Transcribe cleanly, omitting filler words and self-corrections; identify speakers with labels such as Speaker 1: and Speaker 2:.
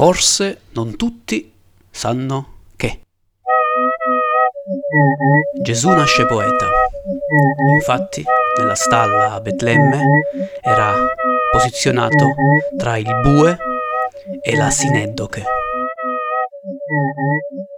Speaker 1: Forse non tutti sanno che Gesù nasce poeta. Infatti, nella stalla a Betlemme era posizionato tra il bue e la sineddoche.